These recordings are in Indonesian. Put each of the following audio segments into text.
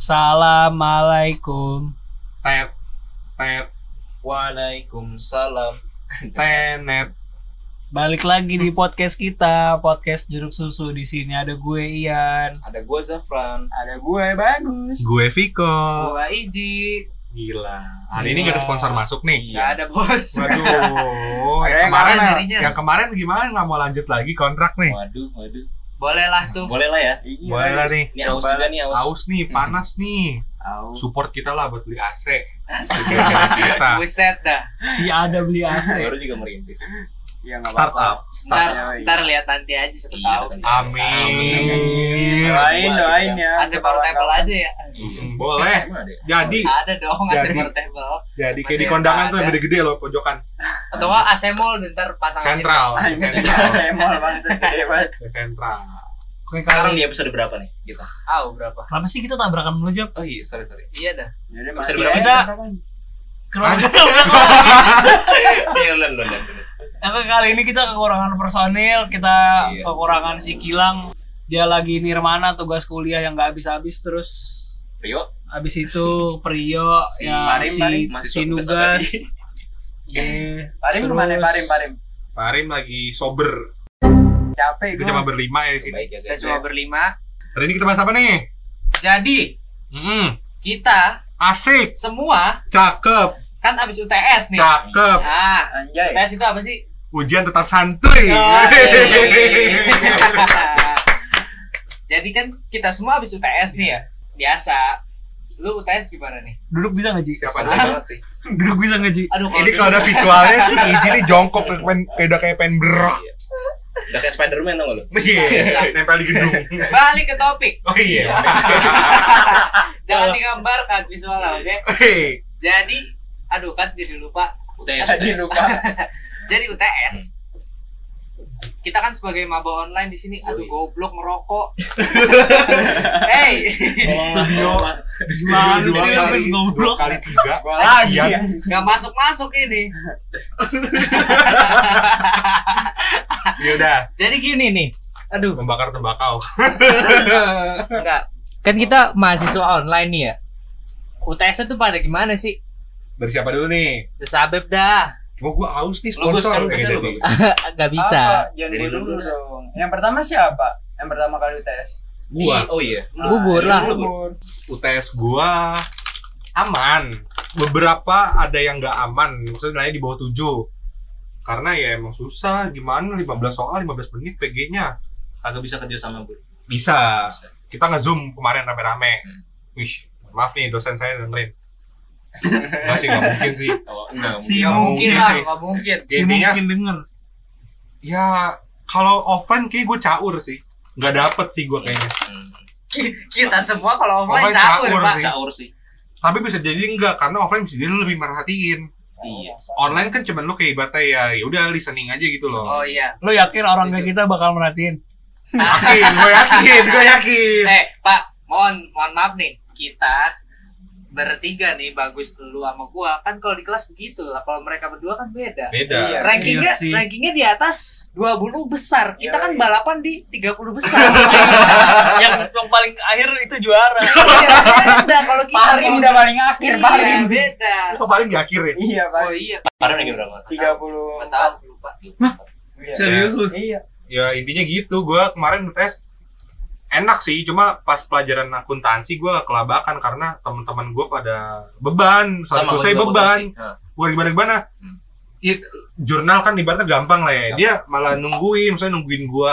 Assalamualaikum. Tet. Waalaikumsalam. Tenet. Balik lagi di podcast kita, podcast Jeruk Susu. Di sini ada gue Ian, Ada gua Zafran. Ada gue Bagus. Gue Viko. Gue Iji. Gila. Hari ini gak ada sponsor masuk nih. Gak ada bos. Waduh. Ada yang kemarin gimana nggak mau lanjut lagi kontrak nih? Waduh. Boleh lah tuh. Boleh lah ya. Boleh lah nih. Ini aus juga nih, aus. Aus nih, panas nih. Support kita lah buat beli AC. Kita. Buset dah. si ada beli AC. Baru juga merintis. Ya nggak Startup. Ntar lihat nanti aja siapa tahu. Amin. Doain ya. AC portable aja ya. Boleh. Jadi Ada dong AC Jadi. portable. jadi kayak di Masih kondangan tuh ada. yang gede-gede loh pojokan. Atau nggak AC mall ntar pasang Sentral. AC mall banget gede banget. Sentral. Oke, Sekarang kali. di episode berapa nih kita? Berapa? Kenapa sih kita tabrakan mulu, Jap? Oh iya, sorry. Iya dah. Episode berapa? Iya, Lon. Kali ini kita kekurangan personil, kita Iya. kekurangan si Kilang. Dia lagi nirmana tugas kuliah yang gak habis-habis, terus Rio. habis itu Prio Si yang Parim, masih si tugas Nugas. tadi. Parim kemana? Parim. Parim lagi sober. Capek Kita gue. cuma berlima ya di sini. Baik ya Kita guys. cuma berlima. Hari ini kita bahas apa nih? Jadi kita Asik, semua cakep, kan abis UTS nih. cakep. Anjay. UTS itu apa sih? Ujian tetap santuy. Jadi kan kita semua habis UTS nih ya. Biasa. Lu UTS gimana nih? Duduk bisa nggak, Ji? Siapa Seru nih? banget sih. Duduk bisa nggak, Ji? Aduh, Ini kalau ada visualnya sih Iji nih jongkok udah kayak pengen berok. Iya. Udah kayak Spiderman tau gak lu? Iya, nempel di gedung. balik ke topik. Oh iya. Jangan digambarkan visualnya, oke? Hei, Jadi, aduh kan jadi lupa. UTS. Jadi UTS. Kita kan sebagai maba online di sini, aduh goblok ngerokok. Hey, di studio Gimana dua sih, kali habis ngobrol? 2 kali 3 lagi sekian. nggak masuk ini. Ya udah, Jadi gini nih, aduh. membakar tembakau. Enggak. Kan kita mahasiswa online nih ya. UTS itu pada gimana sih? Dari siapa dulu nih? Terus Abeb dah. Cuma gua haus nih Bagus sponsor. kan, biasanya lu bagus. Gak bisa. Jangan Dari gue dulu dulu dah. dong. Yang pertama siapa? Yang pertama kali UTS. Gua Oh iya. Bubur lah. Bubur. UTS gua aman. Beberapa ada yang nggak aman, maksudnya nilainya di bawah 7. Karena ya emang susah, gimana 15 soal 15 menit PG-nya. Kagak bisa kerja sama gue. Bisa. Kita nge-zoom kemarin rame-rame. Hmm. Wih, maaf nih dosen saya dengerin. Enggak sih, nggak mungkin sih. Oh, enggak. Si Gak mungkin mungkin lah, sih. gak mungkin. Si Intinya, mungkin denger. ya kalau offline kayak gue caur sih. Nggak dapet sih gue kayaknya. Kita semua kalau offline Offline caur, caur Pak. sih. Caur sih. Tapi bisa jadi enggak, karena offline bisa jadi lu lebih merhatiin. Iya. Online kan cuman lu kayak ibaratnya ya udah listening aja gitu loh. Oh iya. Lo yakin orang kayak kita bakal merhatiin? Gue yakin. Pak, mohon maaf nih. Kita bertiga nih, Bagus, lu sama gua. Kan kalau di kelas begitu lah. Kalau mereka berdua kan beda. Beda. Iya. Rankingnya, Iya sih. rankingnya di atas 20 besar. Kita Iya, kan iya. balapan di 30 besar. yang paling akhir itu juara. Iya, beda kalau kita. Parim kalau- udah paling akhir, Iya, Parim. beda. Itu paling di akhir ya. Iya, Pak. Oh iya. Parah nih berapa? 30. Nggak tahu, lupa. Iya. Serius lu? Iya. Ya intinya gitu. Gue kemarin ngetes enak sih, cuma pas pelajaran akuntansi gue kelabakan karena teman-teman gue pada beban, satu saya beban, bukan gimana. Hmm. Jurnal kan ibaratnya gampang lah ya. Dia malah nungguin, misalnya nungguin gue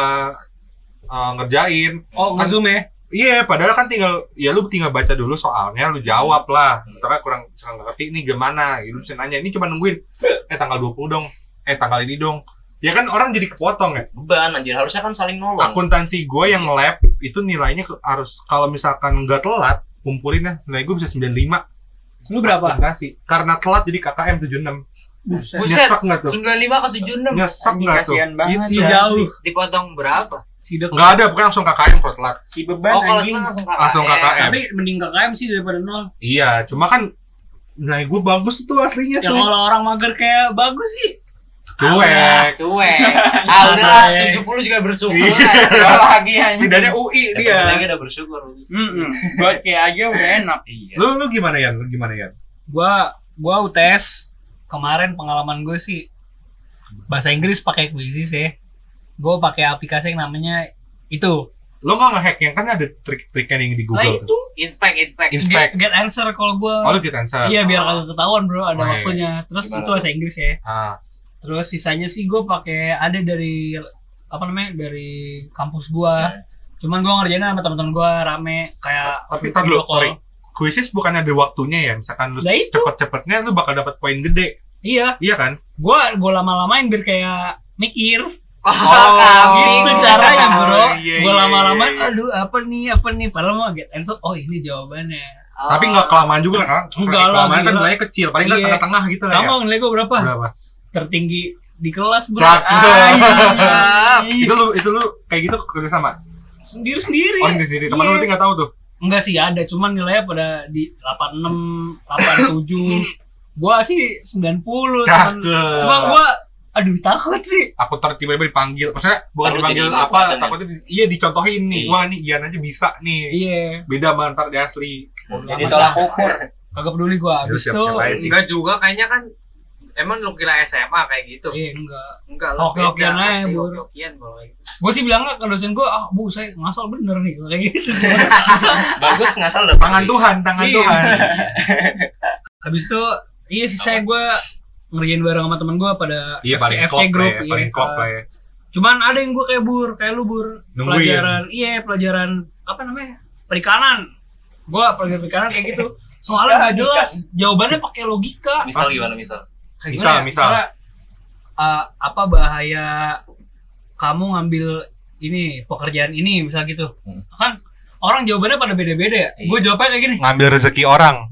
ngerjain. Oh, nge-zoom ya? Iya, padahal kan lu tinggal baca dulu soalnya, lu jawab lah. Karena kurang ngerti ini gimana, lu bisa nanya. Ini cuma nungguin, tanggal 20 dong, tanggal ini dong. Ya kan orang jadi kepotong ya. Beban anjir, harusnya kan saling nolong. Akuntansi gue yang lab itu nilainya harus kalau misalkan nggak telat kumpulinnya nilai gue bisa 95. Lu berapa? Akuntansi. Karena telat jadi KKM 76. Buset. Buset. Nyesek nggak tuh? 95 ke 76. Nyesek Anjing, nggak tuh? kasihan banget. Si ya. jauh. Dipotong berapa? Sidak. Nggak ada, pokoknya langsung KKM kalau telat. Si beban Oh, kalau anjing. itu Langsung KKM. Tapi mending KKM sih daripada nol. Iya, cuma kan nilai gue bagus tuh aslinya Ya tuh. kalau orang mager kayak Bagus sih Cuek. Cuek. Udah 70 juga bersyukur. Gak lagi anjing. Setidaknya UI Lagi dia. udah bersyukur. Buat kayak aja udah enak. Iya. Lu gimana ya? Gua UTS kemarin pengalaman gue sih bahasa Inggris pakai Quizzes ya. Gue pakai aplikasi yang namanya itu. Lo nggak ngehack yang kan ada trik-triknya yang di Nah Google. itu Inspect. get answer kalau gue. Oh lu kita answer. Iya biar kagak ketahuan bro, ada Oh, iya. waktunya. Terus Gimana itu bahasa Inggris ya. Ah. Terus sisanya sih gue pakai ada dari dari kampus gue. Cuman gue ngerjainnya sama teman-teman gue rame kayak. Tapi tar dulu, video call. sorry. Quizzes bukan ada waktunya ya. Misalkan lu Nah, itu. cepet-cepetnya lu bakal dapat poin gede. Iya, Iya kan? gue lama-lamain biar kayak mikir. Oh, Gitu caranya bro. iya, Gue iya, lama-lamain, iya. aduh apa nih. Padahal mau get answer. Oh ini jawabannya. Tapi nggak kelamaan juga kan? Enggak lah, Kelamaan kan gila. nilainya kecil. Paling nggak Iya. tengah-tengah gitu lah ya. Kamu nilai gue berapa? Berapa? Tertinggi di kelas bro. Cakep. Itu lu kayak gitu kerja sama. Sendiri-sendiri. Oh sendiri. Teman Iya. lu nanti nggak tahu tuh. Enggak sih ada, cuman nilainya pada di 86, 87. Gua sih 90. Cakep. Cuman gua aduh takut sih. Aku tiba-tiba dipanggil. Maksudnya bukan Baru dipanggil jadi apa? konten ya? Takutnya iya dicontohin nih. Iya. Wah nih Ian aja bisa nih. Iya. Beda sama ntar di asli. Jadi tolak ukur. Kagak peduli gua. Ya, Habis itu siap-siap aja sih. Enggak juga kayaknya kan. Emang lu kira SMA kayak gitu? enggak. Enggak lah. Oke-okean aja, Bur. Oke-okean kalau kayak gitu. Gua sih bilangnya ke dosen gua, Bu, saya ngasal bener nih kayak gitu. Bagus ngasal dapat Tangan Tuhan, tangan Iya. Tuhan. Habis itu iya sih saya gua ngerjain bareng sama temen gua pada Iya paling FC klop group. lah ya, iya. paling klop lah ya. Cuman ada yang gua kayak lu Bur. Nungguin. Pelajaran apa namanya? Perikanan. Gua pelajaran perikanan kayak gitu. Soalnya nggak jelas, jawabannya pakai logika. Misal gimana misal? Kayak Misal, gimana ya? misal. Misalnya, apa bahaya kamu ngambil ini pekerjaan ini misal gitu. Kan orang jawabannya pada beda-beda ya. Iya. Gue jawabnya kayak gini. Ngambil rezeki orang.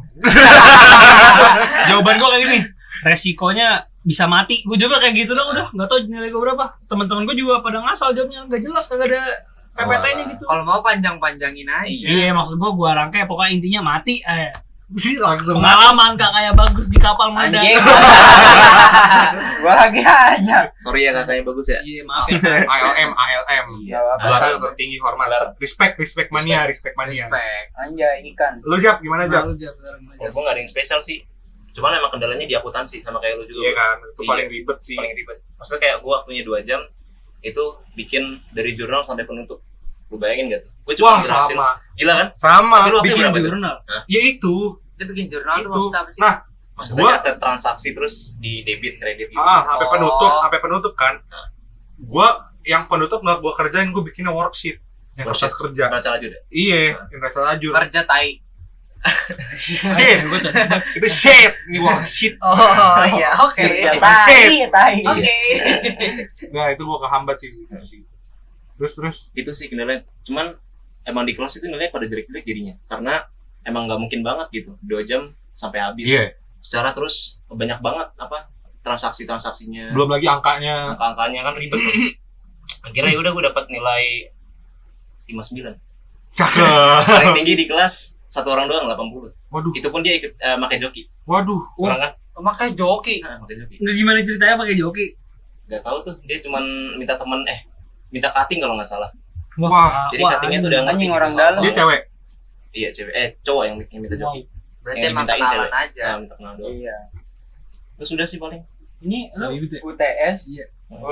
Jawaban gue kayak gini. Resikonya bisa mati. Gue jawabnya kayak gitu dong udah. Nggak tahu nilai gue berapa. Teman-teman gue juga pada ngasal jawabnya nggak jelas kagak ada PPT-nya gitu. Kalau mau panjang-panjangin aja. Iya maksud gue rangkai pokoknya intinya mati. Langsung Pengalaman kak kayak bagus di kapal muda. Anjing. Gua lagi aja. Sorry ya kakaknya bagus ya. Iya maaf ya. ALM. Gak apa-apa. Gelar tertinggi hormat. Respect mania. Respect. Anjay ikan. Lu Jap, gimana Jap? Lalu jawab sekarang aja. Gue gak ada yang spesial sih. Cuman emang kendalanya di akuntansi sama kayak lu juga. Iya Bro. kan, itu Iya. paling ribet sih. Paling ribet. Maksudnya kayak gue waktunya 2 jam itu bikin dari jurnal sampai penutup. Lu bayangin gak tuh? Gue cuma Wah berhasil. sama, Gila kan? sama. Tapi lu waktunya Bikin berapa tuh? jurnal. Ya itu, Itu bikin jurnal tuh itu. maksudnya apa sih? Nah, Maksudnya Gua- catat transaksi terus di debit kredit gitu. sampai Oh. penutup kan. Gua yang penutup nggak gua kerjain, gua bikinnya worksheet yang Worksheet. kertas kerja. Baca lagi udah. Iya, yang kertas lajur. Kerja tai. Gue catat. Itu sheet, ini worksheet. Oh iya, oke. Ya, Shit. tai. Oke. Nah itu gua kehambat sih. Terus. Itu sih kendalanya. Cuman emang di kelas itu nilainya pada jelek-jelek jadinya. Karena emang nggak mungkin banget gitu. 2 jam sampai habis. Iya. Secara terus banyak banget apa transaksinya. Belum lagi angkanya. Angka-angkanya kan ribet. Akhirnya udah gue dapat nilai 59. Cakep. Paling tinggi di kelas satu orang doang 80. Waduh. Itu pun dia ikut pakai joki. Waduh. Kurang kan? Makanya joki. Pakai joki. Nggak gimana ceritanya pakai joki. Gak tahu tuh, dia cuman minta minta cutting kalau nggak salah. Wah. Jadi cuttingnya tuh udah ngerti. Anjing orang gitu, dalam. soal-soal. Dia cewek. Iya cewek, cowok yang minta joki. Berarti Yang emang dimintain kenalan cewek. aja. Minta kenal doang. Iya. Terus udah sih paling. Ini lu Sorry, gitu ya. UTS. Iya.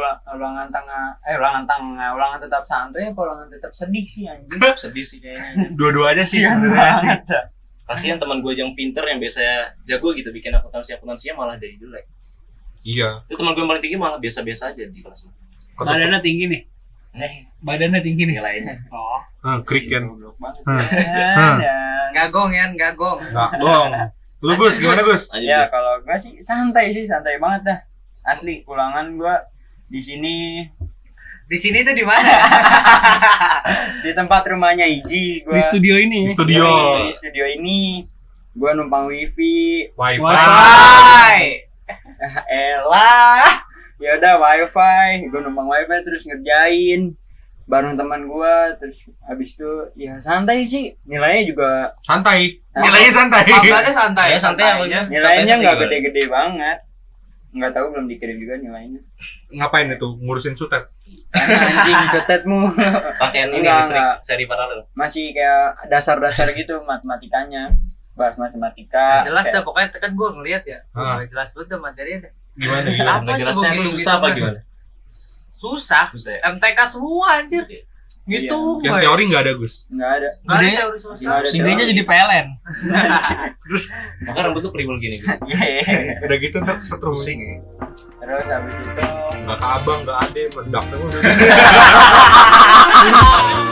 Ulangan tetap santuy apa ulangan tetap sedih sih anjing. Sedih sih kayaknya. Dua-duanya sih sebenarnya sih. Kasihan teman gue yang pinter yang biasanya jago gitu bikin akuntansinya malah dari jelek. Iya. Itu teman gue yang paling tinggi malah biasa-biasa aja di kelas. Badannya tinggi nih. Badannya tinggi nih. Nilainya. Oh. Krik kan. Goblok banget. Hah. Gagong ya, gagong. Nggak dong. Lu Gus, gimana Gus? Aja Ya Gus. kalau gua sih santai banget dah. Asli ulangan gua di sini Di sini tuh di mana? di tempat rumahnya Iji gua. Di studio ini. Di studio. Di studio ini gua numpang wifi. Wifi. Hai. Elah. Ya udah wifi, gua numpang wifi terus ngerjain bareng teman gua, terus habis itu ya santai sih. Nilainya juga Santai. Nilainya santai. Angkanya santai. Ya santai apa aja. gitu? nilainya Santai-santai nggak gimana? gede-gede banget. nggak tahu, belum dikirim juga nilainya. Ngapain itu? Ngurusin sutet? Karena anjing sotetmu. Pakaian ini Enggak, listrik enggak. seri paralel. Masih kayak dasar-dasar gitu matematikanya. Bahas matematika. Jelas dah kayak- pokoknya kan gue ngeliat ya. Ah. Nggak jelas banget dah materinya dah. Gimana? Apa Nggak jelasnya coba itu gitu-gitu susah apa mah? gimana? Susah. Susah ya? MTK semua anjir. Gitu Yang gue. teori nggak ada, Gus. Nggak ada. Gak ada Gede. teori sama sekali. Nggak ada. Singgahnya jadi PLN. Maka rambut lu kriwil gini, Gus. Udah gitu ntar kesetrum. Pusing ya. Terus habis itu Nggak ke abang, nggak ade, meledak.